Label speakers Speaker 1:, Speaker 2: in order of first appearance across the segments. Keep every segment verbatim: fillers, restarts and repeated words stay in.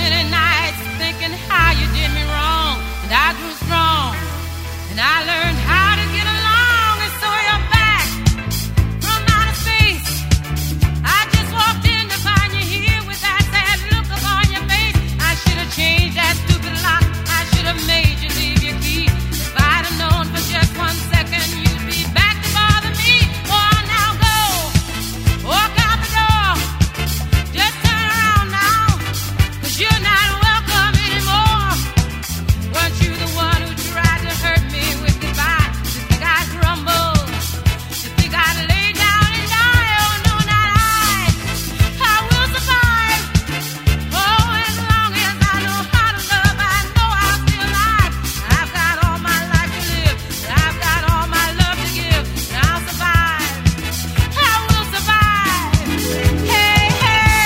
Speaker 1: many nights thinking how you did me wrong, and I grew strong, and I learned how to get along, and so you're back from outer space. I just walked in to find you here with that sad look upon your face. I should have changed that stupid lock. I should have made you leave your key. If I'd have known for just one second you'd be back to bother me. Oh, now go, walk out the door, just turn around now, 'cause you're not welcome anymore. Weren't you the one who tried to hurt me with goodbye? You think I'd crumble? You think I'd lay down and die? Oh, no, not I. I will survive. Oh, as long as I know how to love, I know I'll stay alive. I've got all my life to live, I've got all my love to give, and I'll survive. I will survive. Hey, hey.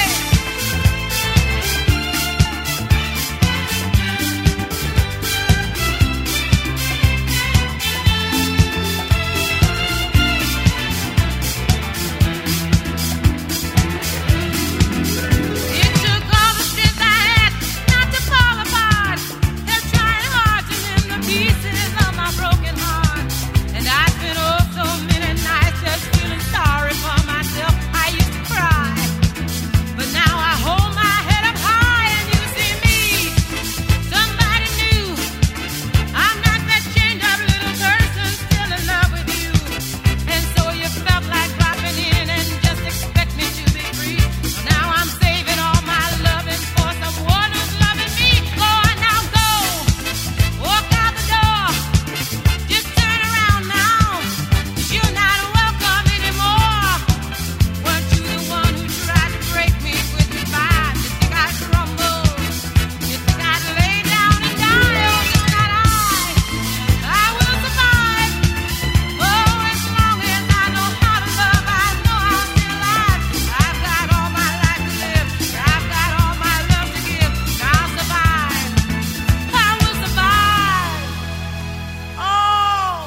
Speaker 1: It took all the strength I had not to fall apart. They're trying hard to mend the pieces of my broken heart. And I spent oh so many nights just feeling sorry for myself. I used to cry, but now I hold my head up high and you see me, somebody new. I'm not that chained up little person still in love with you. And so you felt like dropping in and just expect me to be free. Now I'm saving all my loving for someone who's loving me. Go on now, go, walk out the door, just turn around now, 'cause you're not welcome anymore. Weren't you the one who tried to break me with goodbye? You think I'd crumble? You think I'd lay down and die? Oh, no, not I. I will survive. Oh, as long as I know how to love, I know I'll stay alive. I've got all my life to live, I've got all my love to give, and I'll survive. I will survive. Oh,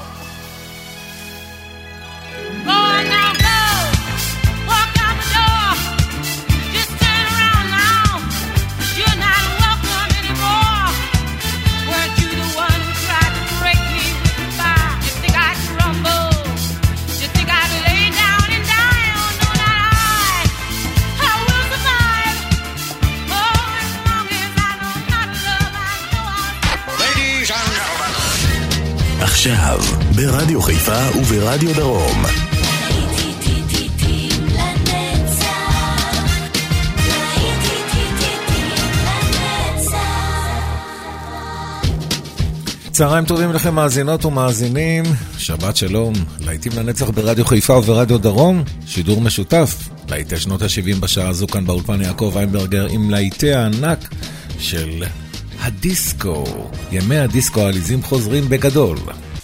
Speaker 1: go on now, go, walk out the door, just turn around now, 'cause you're not welcome anymore. Weren't you the one who tried to break me with goodbye? You think I'd crumble? You think I'd lay down and die? Oh, no, not I. I will survive. Oh, as long as I know how to love, I know I'll
Speaker 2: Ladies and gentlemen.
Speaker 3: עכשיו, ברדיו חיפה וברדיו דרום. צהריים טובים לכם מאזינות ומאזינים, שבת שלום, להיטים לנצח ברדיו חיפה וברדיו דרום, שידור משותף, להיטי שנות ה-שבעים בשעה הזו כאן באולפן יעקב איינברגר עם להיטי הענק של הדיסקו, ימי הדיסקו העליזים חוזרים בגדול.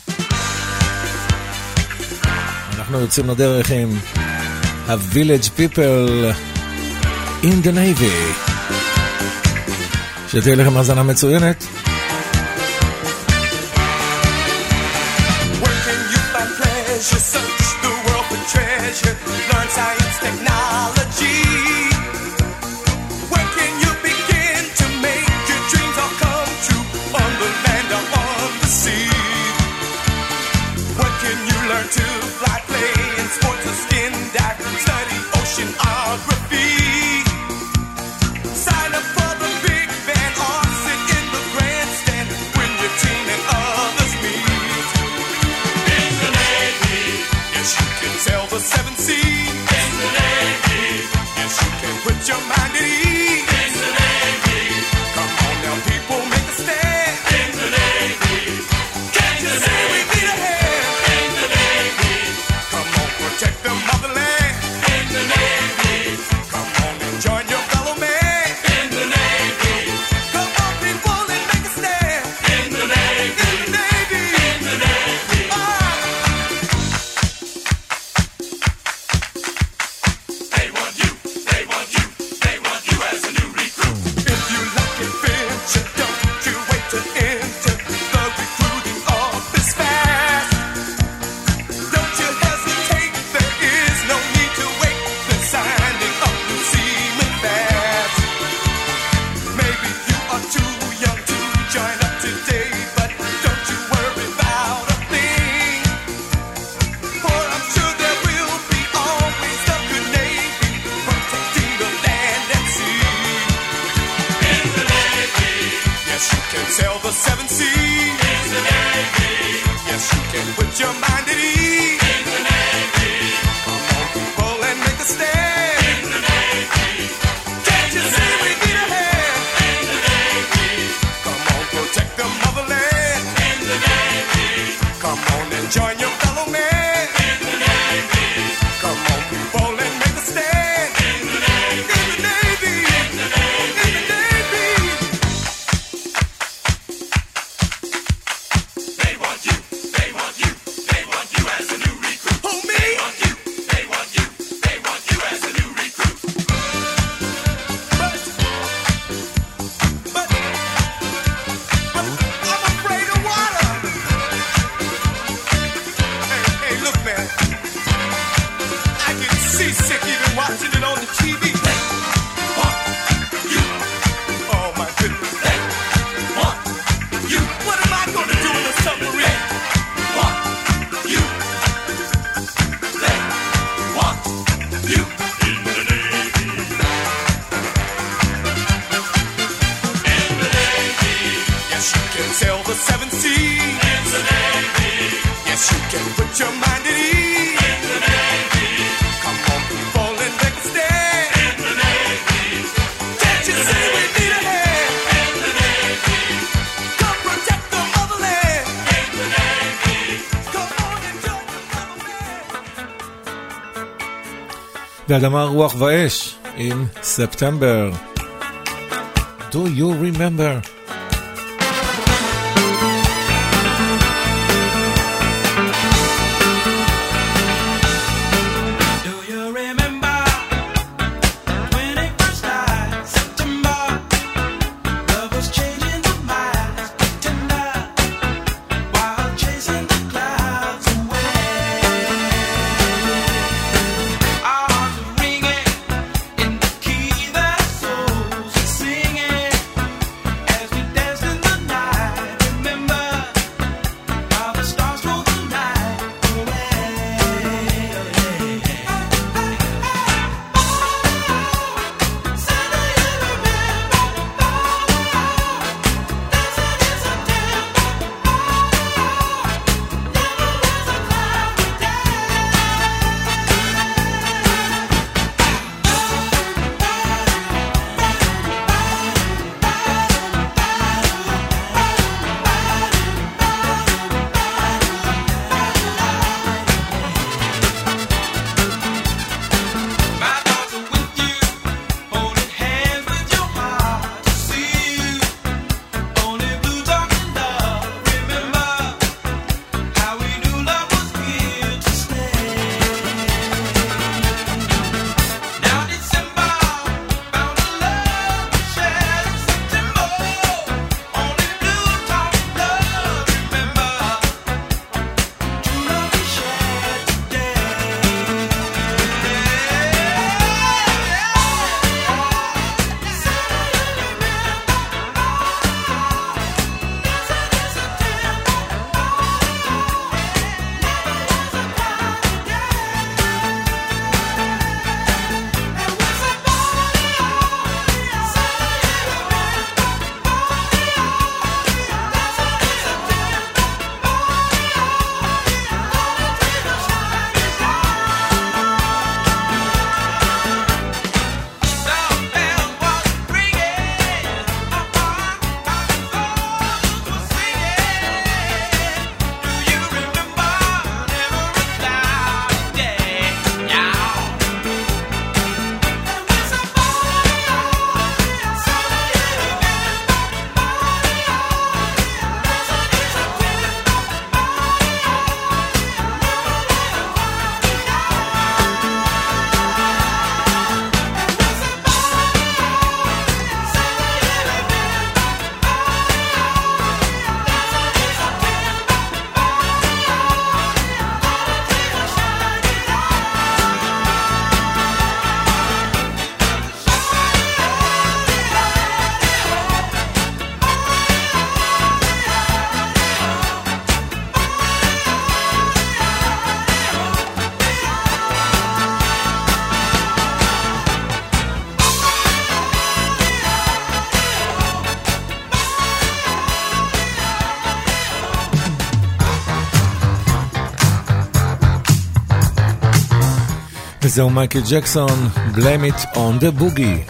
Speaker 3: אנחנו יוצאים לדרך עם ה-Village People in the Navy. שתהיה לכם האזנה מצוינת.
Speaker 4: You search the world for treasure, learn science, technology. Where can you begin to make your dreams all come true, on the land or on the sea? Where can you learn to fly, play in sports or skin dive, study oceanography? Sign up for the big band or sit in the grandstand when your team and others meet. You can sail the seven seas in the Navy. Yes, you can put your mind at ease in the Navy. Come on now, people, make a stand in the Navy. Can't you say we need a hand in the Navy? the seven seas. In the Navy. Yes, you can put your mind at ease. In the Navy. Come on, people, and make a stand. In the Navy. Can't you see we need a hand? In the Navy. Come on, protect the motherland. In the Navy. Come on and join your fellow man. In the Navy. Come on, people, and make a stand. In the Navy. In the Navy. In the Navy. In the Navy. They want you. They want you. They want you as a new recruit. Who, me? They want you. They want you. They want you as a new recruit. But, but, but I'm afraid of water. Hey, hey, look, man. I get seasick even watching it on the T V. They want you. Oh, my goodness. They want you. What am I going to do in a submarine? They want you. They want you. In the Navy. In the Navy. Yes, you can sail the seven seas. In the Navy. Yes, you can put your mind at ease. In the Navy. Come on, people, and make a stand. In the Navy. Can't you see we need a hand? In the Navy. Come protect the motherland. In the Navy. Come on and join the motherland.
Speaker 3: ואדמה רוח ואש עם ספטמבר. Do you remember?
Speaker 5: Do you remember when it first started? September, love was changing the minds, tender, while chasing the clouds away. Our hearts were ringing in the key that souls are singing as we
Speaker 3: זהו מייקל ג'קסון, Blame It on the Boogie.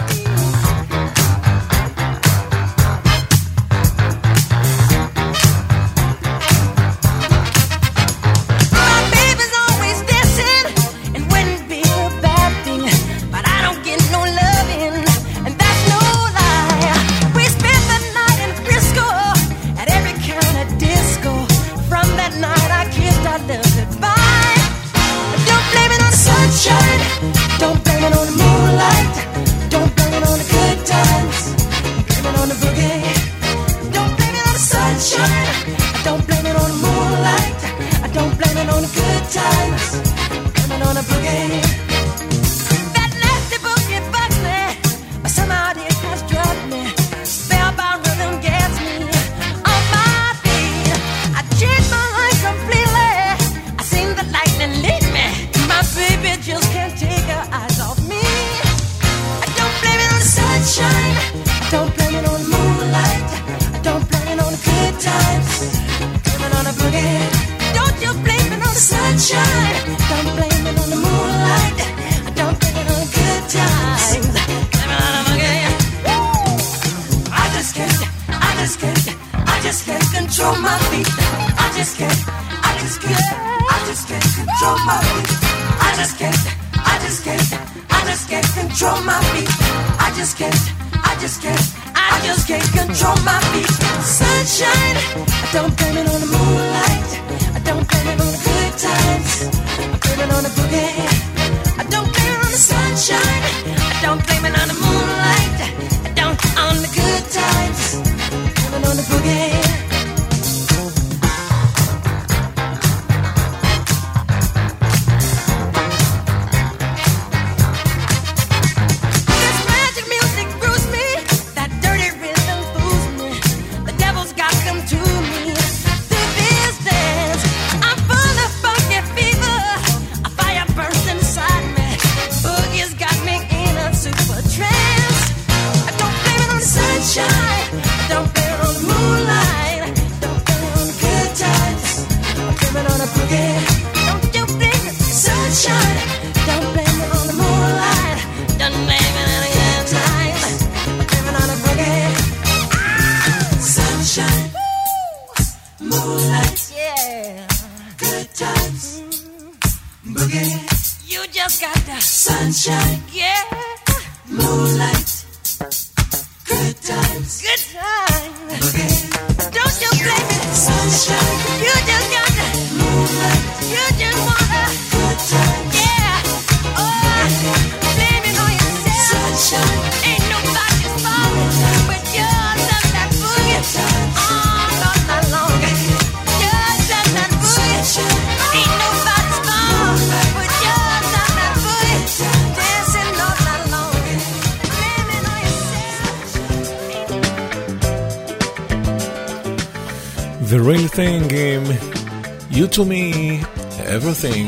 Speaker 3: The Real Thing, um, You to Me, Everything.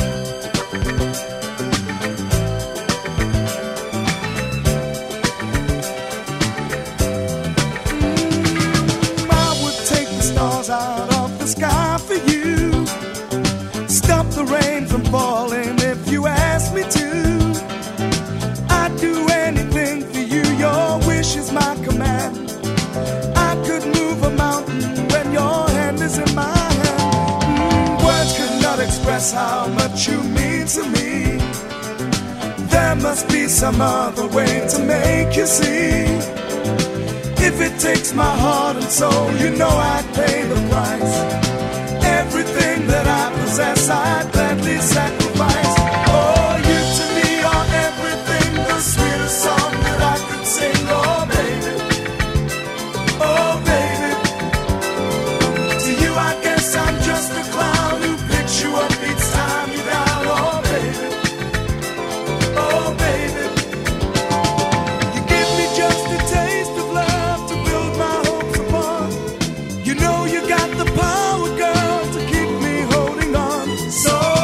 Speaker 6: I would take the stars out of the sky for you, stop the rain from falling if you ask me to. I'd do anything for you, your wish is my command. I could move a mountain when your hand is in my hand. Mm, words could not express how much you mean to me. There must be some other way to make you see. If it takes my heart and soul, you know I'd pay the price. Everything that I possess, I'd gladly sacrifice. Oh, you to me are everything, the sweetest song that I could sing. Oh, baby. Oh, baby. To you, I guess I'm just a clown who picks you up each time you're down. Oh, baby. Oh, baby. You give me just a taste of love to build my hopes upon. You know you got the power, girl, to keep me holding on. So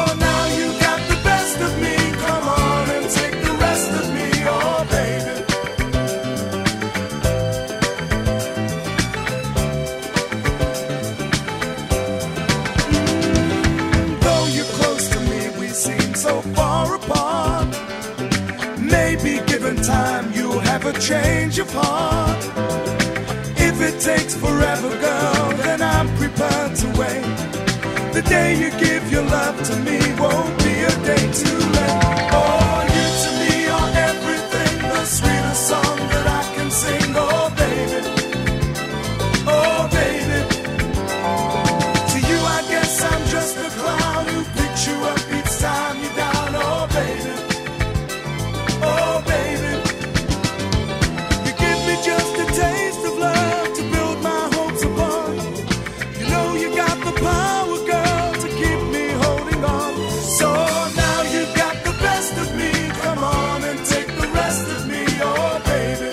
Speaker 6: never change of heart. If it takes forever, girl, then I'm prepared to wait. The day you give your love to me won't be a day too late. Oh, you to me are everything, the sweetest song that I can sing. Oh, baby, oh, baby. To you, I guess I'm just a clown who picks you up each time you're down. Oh, baby, oh, baby. You give me just a taste of love to build my hopes upon. You know you got the power, girl, to keep me holding on. So now you got the best of me. Come on and take the rest of me, oh, baby.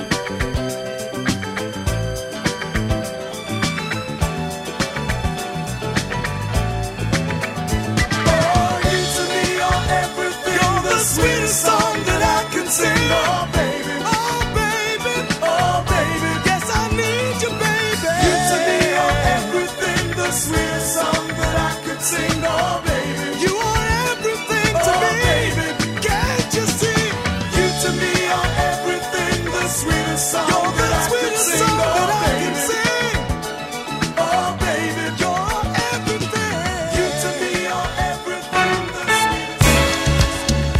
Speaker 6: Oh, you to me are everything. You're the sweetest song that I can sing, oh, baby. Oh, baby, oh, baby. Yes, I need you, baby. You to me are everything, the sweetest song that I could sing, oh, baby. You are everything to oh, me, baby. Can't you see? You to me are everything, the sweetest song you're that the I sweetest could sing, song oh, that I baby. Can sing. Oh, baby, you're everything. You to me are everything, the sweetest.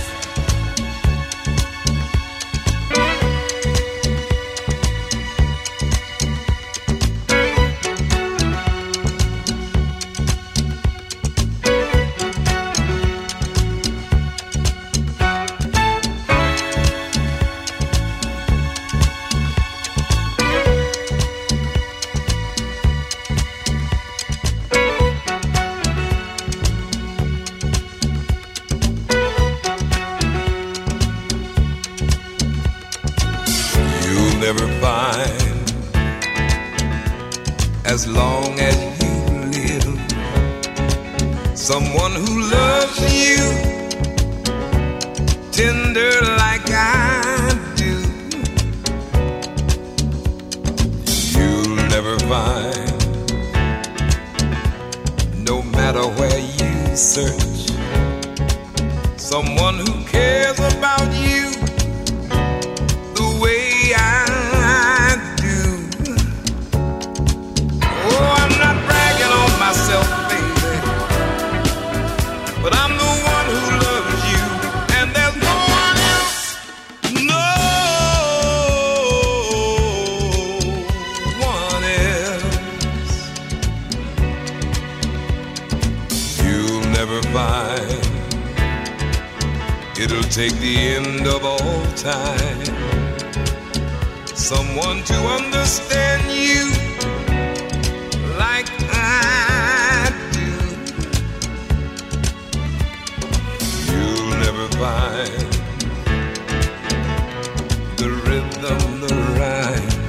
Speaker 7: You'll never find, as long as you live, someone who loves you tender like I do. You'll never find, no matter where you search, someone who cares about you the way I do. Oh, I'm not bragging on myself, baby, but I'm the one who loves you, and there's no one else, no one else. You'll never find, it'll take the end of all time, someone to understand you like I do. You'll never find the rhythm, the rhyme,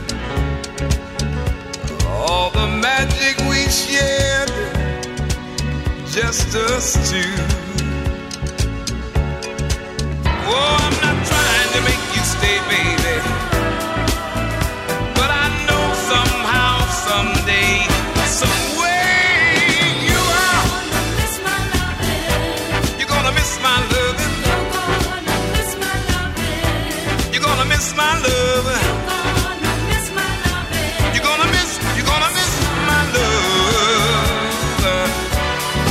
Speaker 7: all the magic we shared, just us two. Oh, I'm not trying to make you stay, baby, but I know somehow, someday, some way you are. You're gonna miss my loving. You're gonna miss my loving. You're gonna miss, you're gonna miss my love. Oh,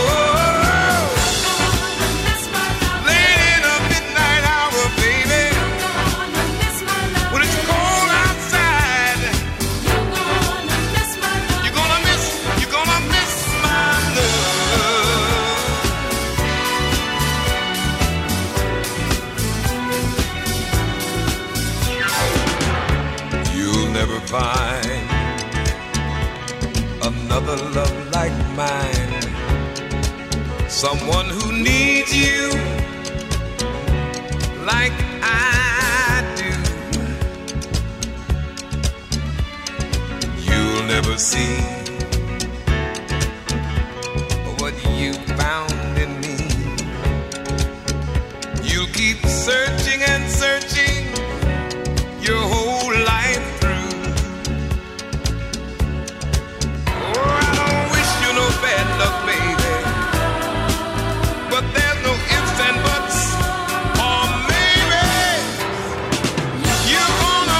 Speaker 7: late in the midnight hour, baby, when it's cold outside, you're gonna miss, you're gonna miss my love. You'll never find another love like mine, someone who needs you like I do. You'll never see what you found in me. You'll keep searching and searching your whole life through. Oh, I don't wish you no bad luck, baby, but there's no ifs and buts, or maybe you're gonna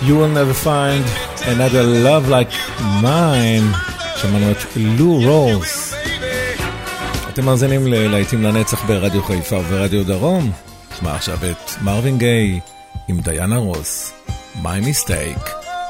Speaker 3: You will never find another love like mine. שמענו את לו רולס. אתם מאזינים ללהיטים לנצח ברדיו חיפה וברדיו דרום. נשמע עכשיו את מרווין גיי עם דיאנה רוס. My Mistake.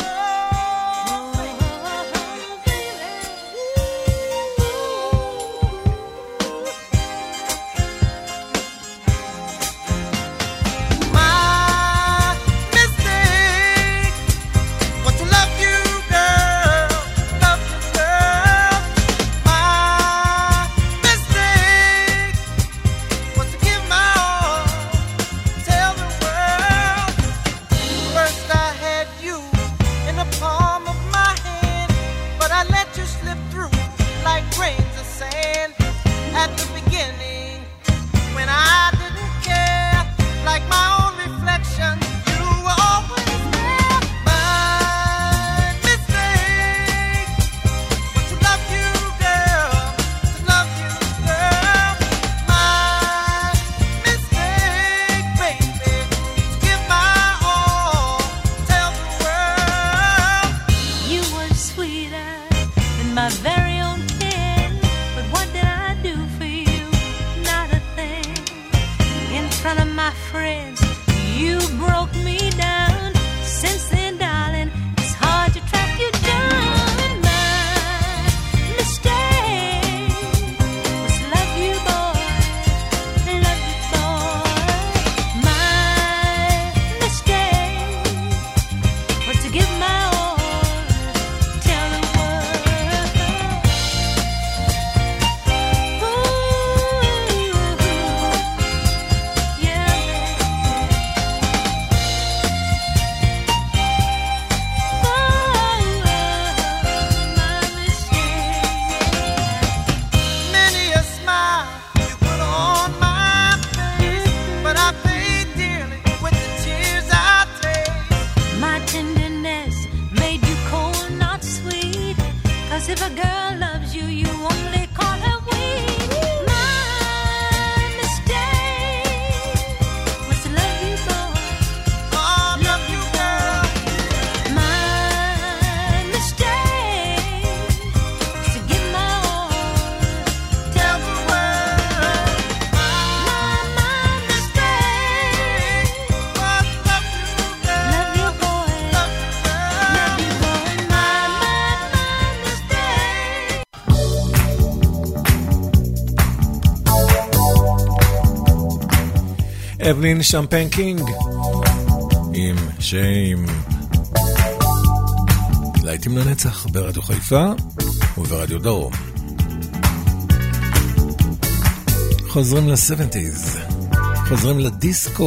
Speaker 3: אבלין שמפיין קינג עם שיים. להיטים לנצח ברדיו חיפה וברדיו דרום. חוזרים ל-שבעים, חוזרים לדיסקו.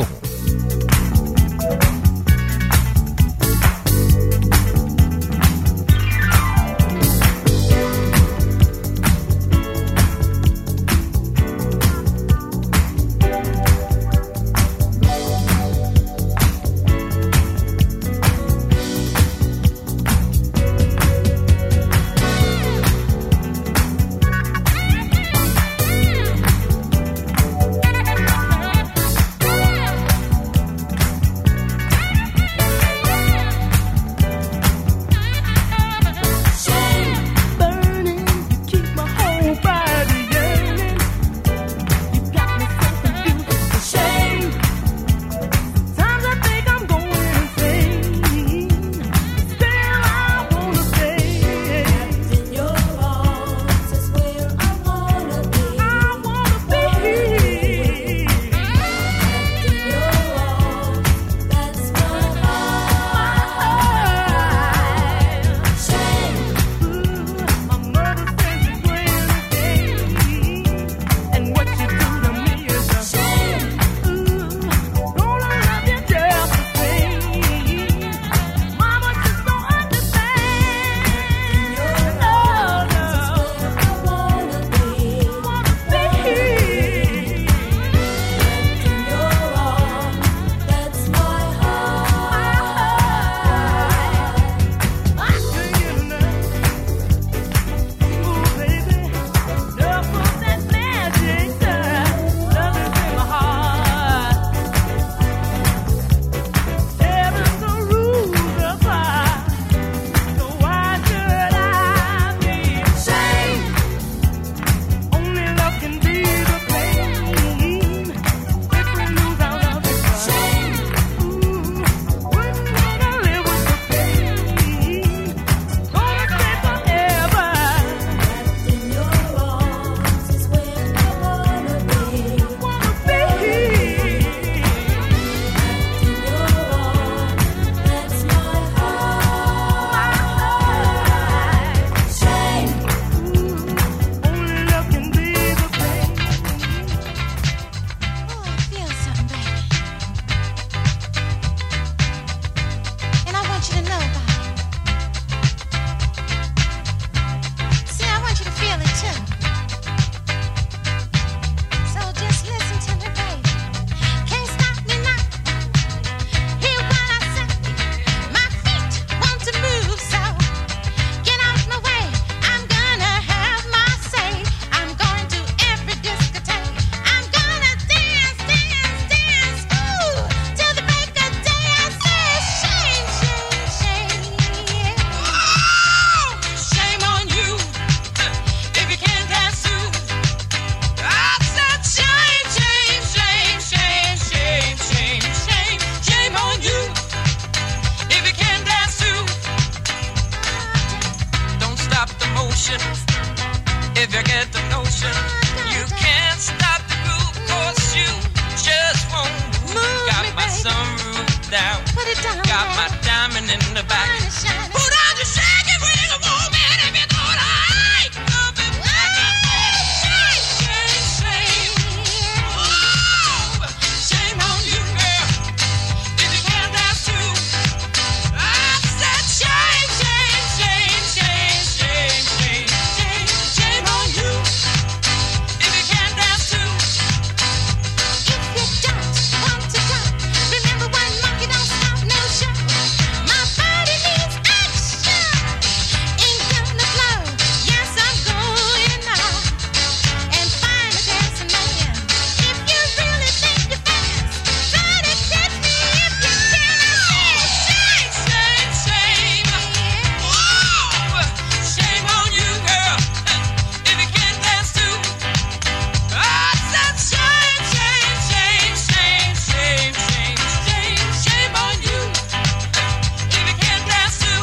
Speaker 5: motion. If you get the notion, you can't stop the groove, 'cause you just won't move. Got my sunroof down, got my diamond in the back. Put on your shake it, bring a movement if you don't like. Up and back and shake, shake, shake. Whoa, shame on you, girl, if you can't dance too. I said shame, shame, shame, shame, shame, shame, shame, shame on you, if you can't dance too.
Speaker 1: If you don't want to talk, remember one monkey don't stop no show. My body needs action, ain't gonna flow. Yes, I'm going now and find a dancing man. If you really think you're fast, try to catch me if you can.
Speaker 5: Shame, shame, shame. Whoa, shame on you, girl, if you can't dance too. I said shame, shame, shame, shame, shame, shame, shame, shame on you, if you can't dance too.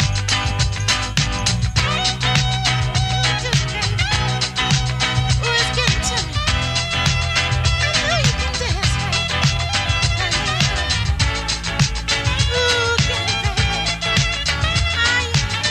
Speaker 1: Ooh, it's getting to me. I know you can dance, baby. Ooh, get it, baby. I,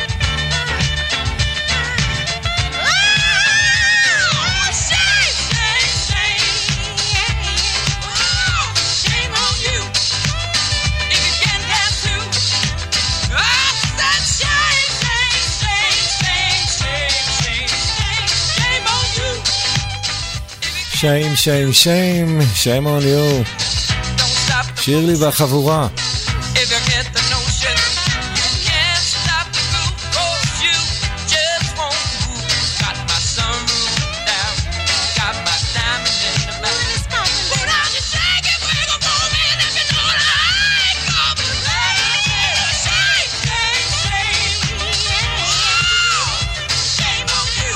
Speaker 5: Oh, shame, shame, shame. Whoa, shame on you, if you can't dance too. I said shame, shame, shame, shame, shame, shame, shame on you.
Speaker 3: שיים, שיים, שיים, שיים on you.
Speaker 5: Don't stop the
Speaker 3: שירלי והחבורה.
Speaker 5: if you get the notion. You can't stop the groove, 'cause you just won't move. Got my sunroof down, got my diamond in the back. Put on your shake it, wiggle, movement if you know what I call me. Shame, shame, shame. Whoa, shame on you.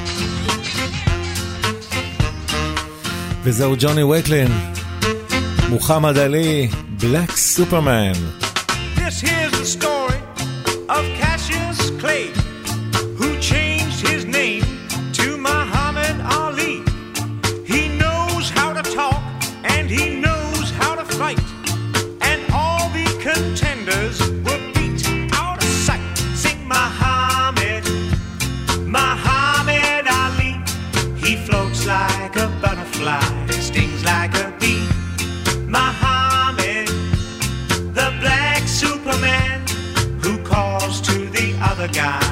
Speaker 3: וזהו ג'וני וויקלין, מוחמד עלי, בלק סופרמן.
Speaker 6: This here's the story of Cassius Clay, who changed his name to Muhammad Ali. He knows how to talk and he knows how to fight, and all the contenders were beat out of sight. Sing Muhammad, Muhammad Ali. He floats like a butterfly, stings like a bee. Muhammad, the black Superman, who calls to the other guy,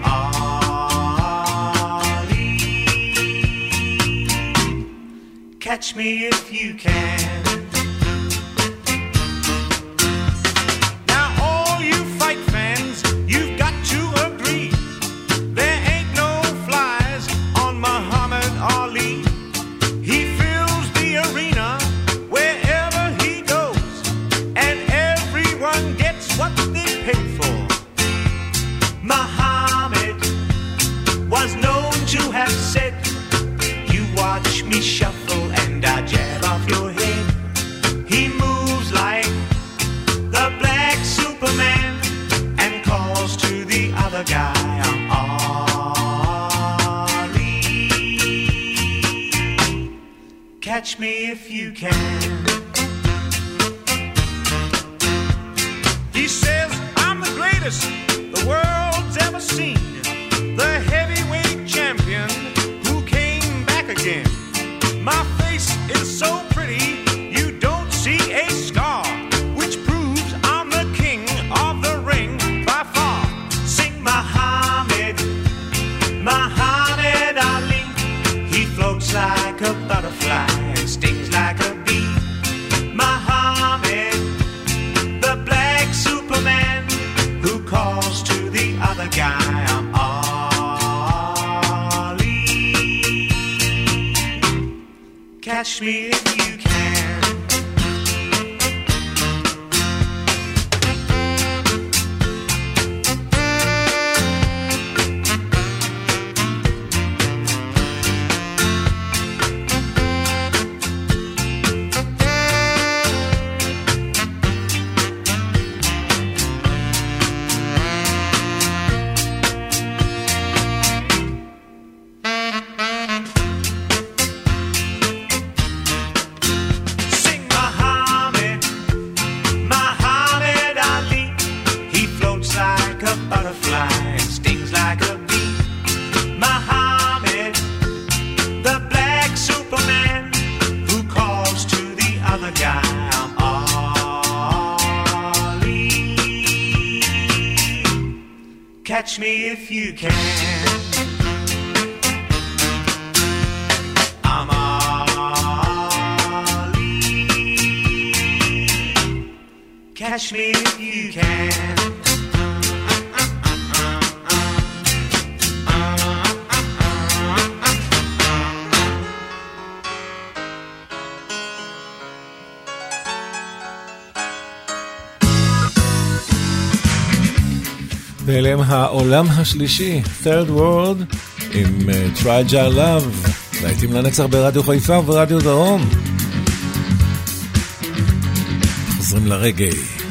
Speaker 6: Ali. Catch me if you can. Now all you fight fans, you've got to agree, there ain't no flies on Muhammad Ali. He fills the arena wherever he goes, and everyone gets what they pay for. Muhammad was known to have said, you watch me shuffle and I jab off your head. He moves like the black Superman and calls to the other guy, I'm Ali. Catch me if you can. He says, I'm the greatest the world's ever seen, the heavyweight champion who came back again. My face is so pretty, you don't see a scar, which proves I'm the king of the ring by far. Sing Muhammad, Muhammad Ali. He floats like a butterfly and stings like a bee. Muhammad, the black Superman, who calls to the other guy, I'm Ali. Catch me if you can.
Speaker 8: Catch me if you can. I'm Ali. Catch me if you can.
Speaker 3: ואליהם העולם השלישי, Third World, עם uh, Fragile Love, להיטים לנצח ברדיו חיפה וברדיו דרום. חוזרים לרגעי.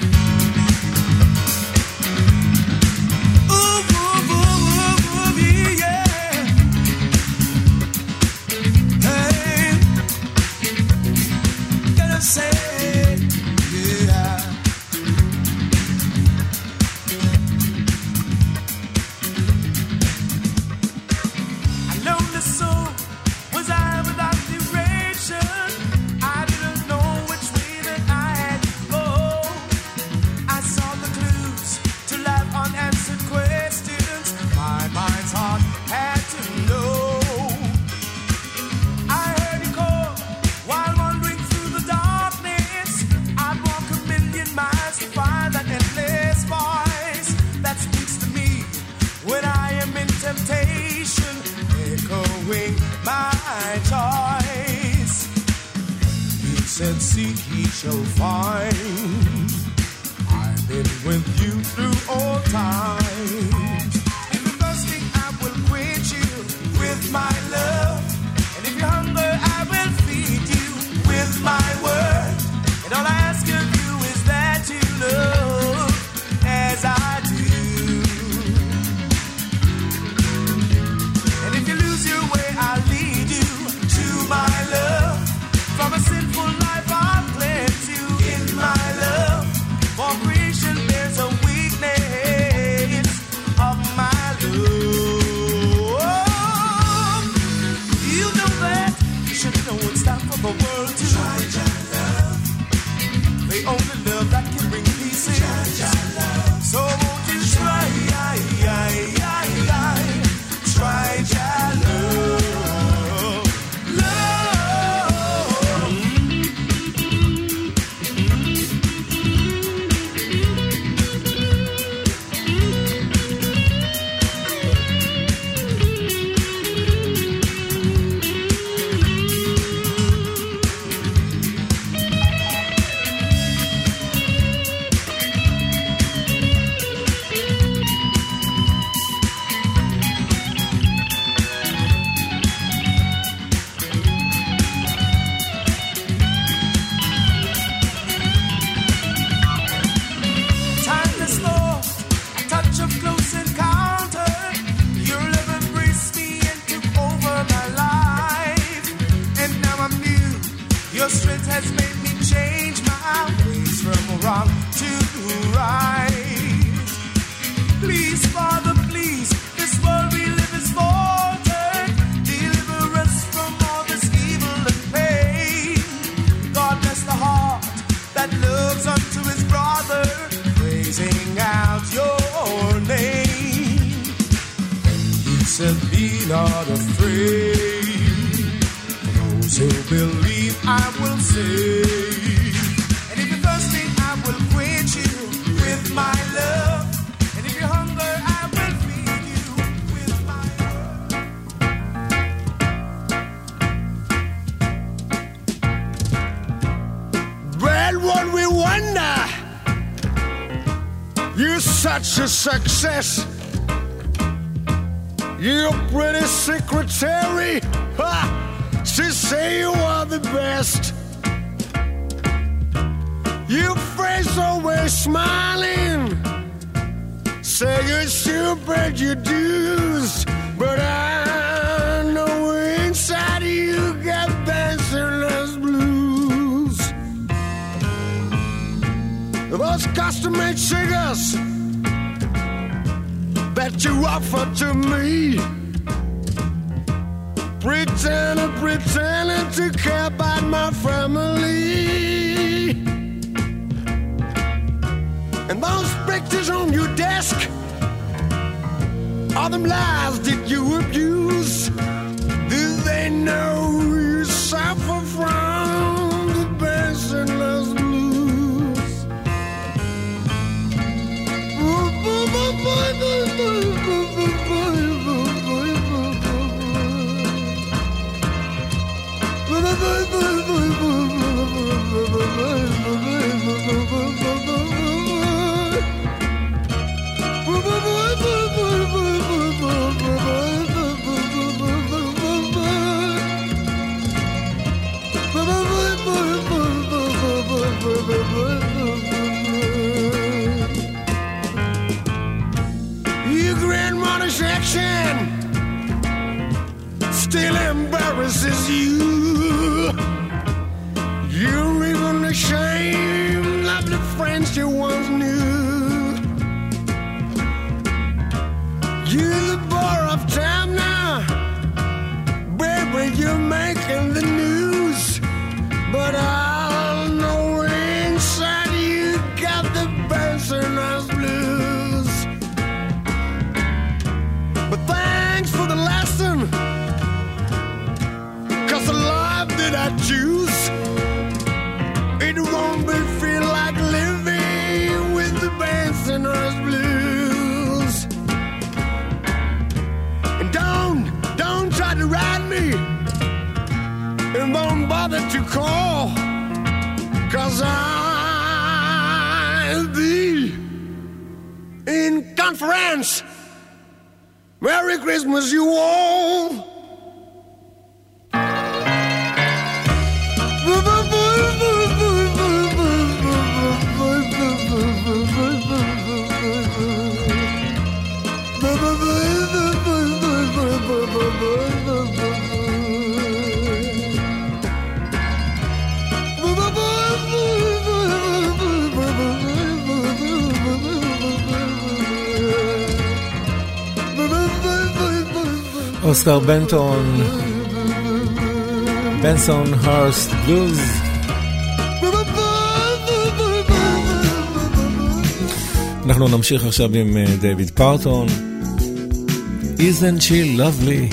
Speaker 9: Success. Your pretty secretary, ha, she say you are the best. Your face always smiling, say you should pay your dues, but I know inside you got dancerless blues. Those custom-made cigars that you offer to me, pretending, pretending to care about my family, and those pictures on your desk All them lies that you abuse, do they know you suffer from the Benson-less blues? Your grandmother's section still embarrasses you. You're even ashamed of the friends you once knew. You're the bar of time now, baby, you're making the news. But I'll know inside you got the Benson-less blues. But thanks for the lesson, 'cause the life that I choose, it won't be feel like living with the Benson-less blues. And don't, don't try to ride me, and don't bother to call, 'cause I'll be in conference. Merry Christmas, you all.
Speaker 3: אוסקר בנטון, בנסון-הרסט בלוז. אנחנו נמשיך עכשיו עם דיוויד פארטון, Isn't she lovely?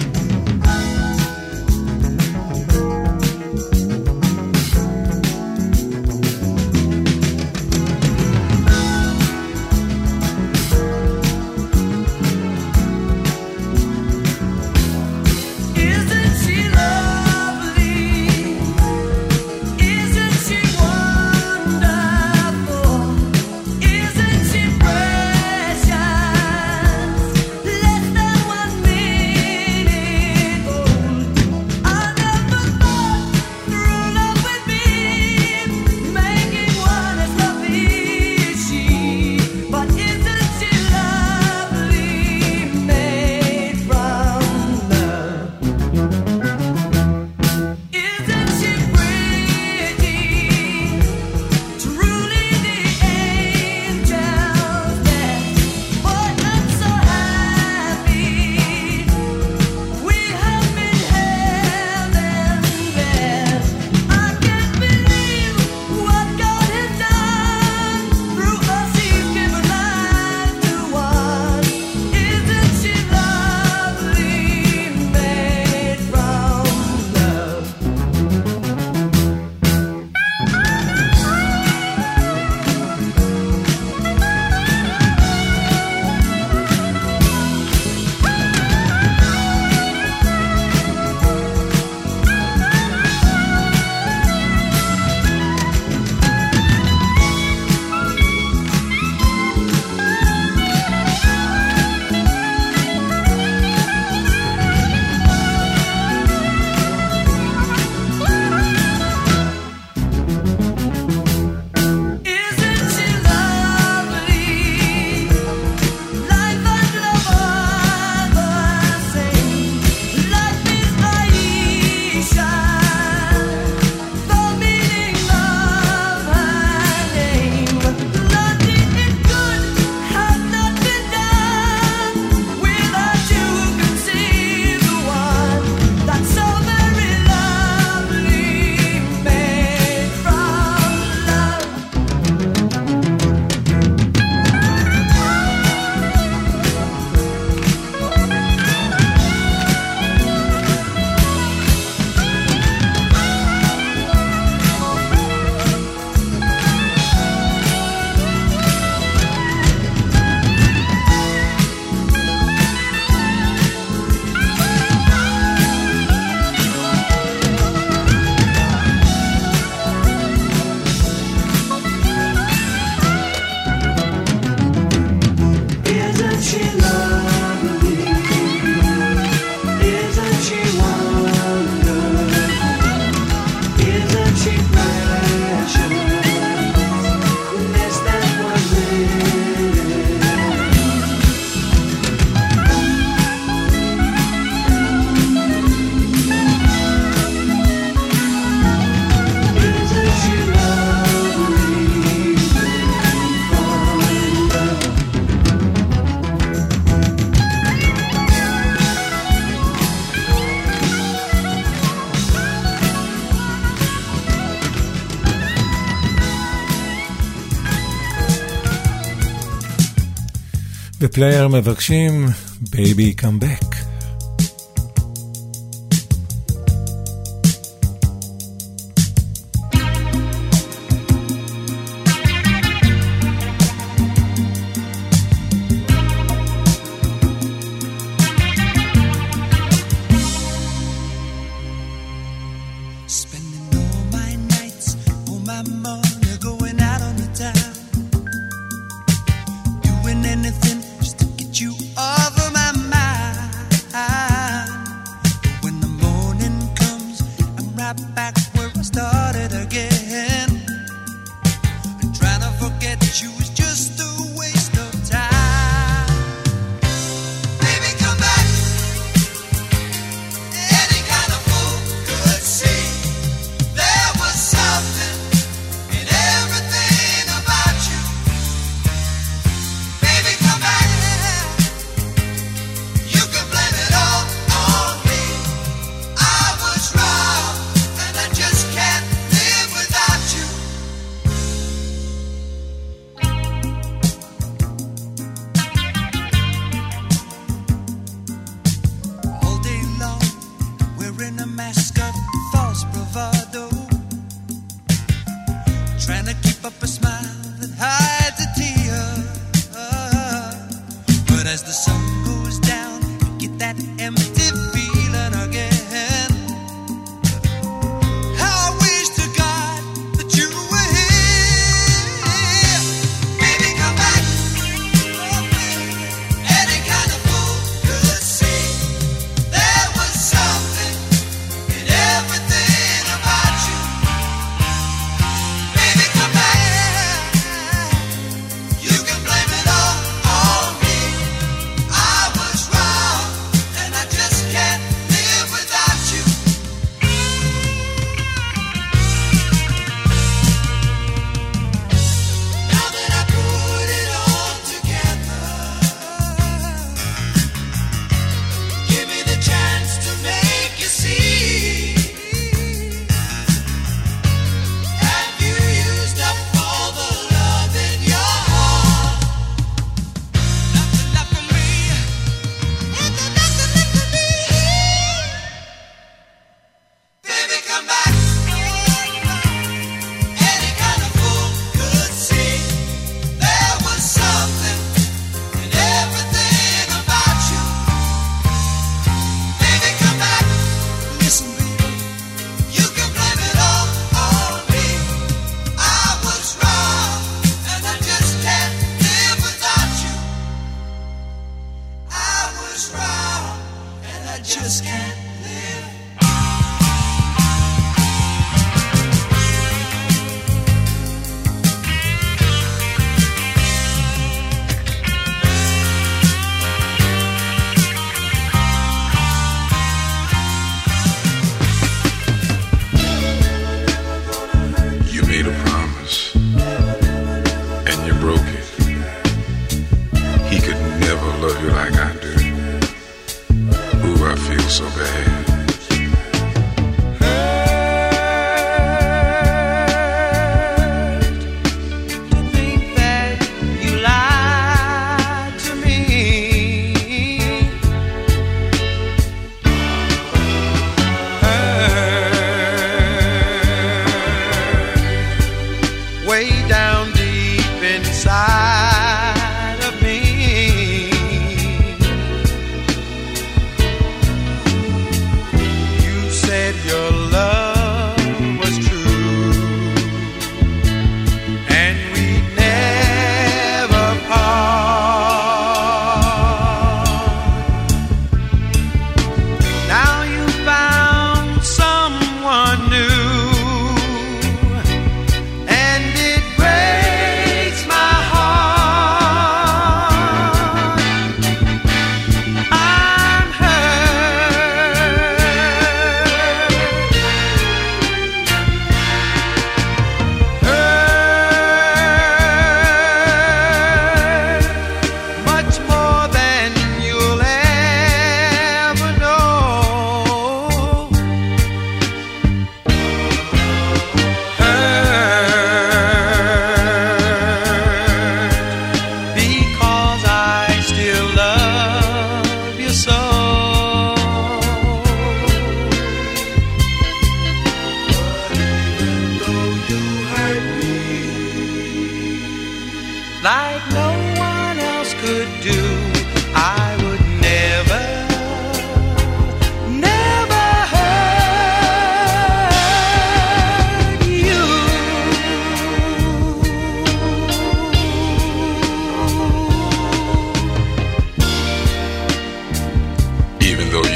Speaker 10: Less than one minute.
Speaker 3: בפלייר מבקשים Baby Come Back.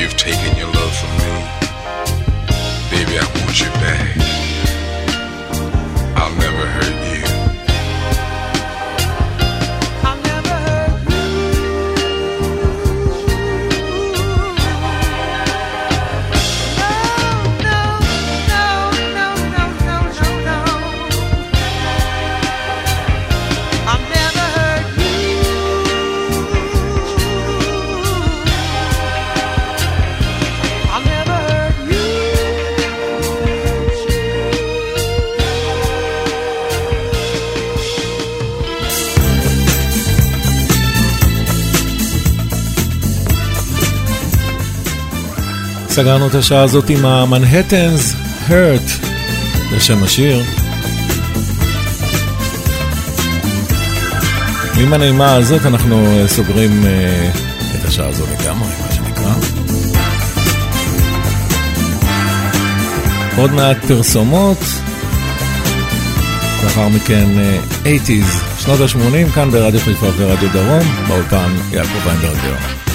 Speaker 2: you've taken your love from me. Baby, I want you back. I'll never hurt you.
Speaker 6: I'll never hurt you. No, no, no, no, no, no, no, no. I'll never hurt you. I'll never hurt you.
Speaker 3: סגרנו את השעה הזאת עם המנהטנס Hurt בשם השיר. ועם הנעימה הזאת אנחנו סוגרים uh, את השעה הזאת לגמרי, מה שנקרא. עוד מעט פרסומות, לאחר מכן uh, שמונים, שנות ה-שמונים, כאן ברדיו חיפה ורדיו דרום, באולפן יעקב ויינברגר.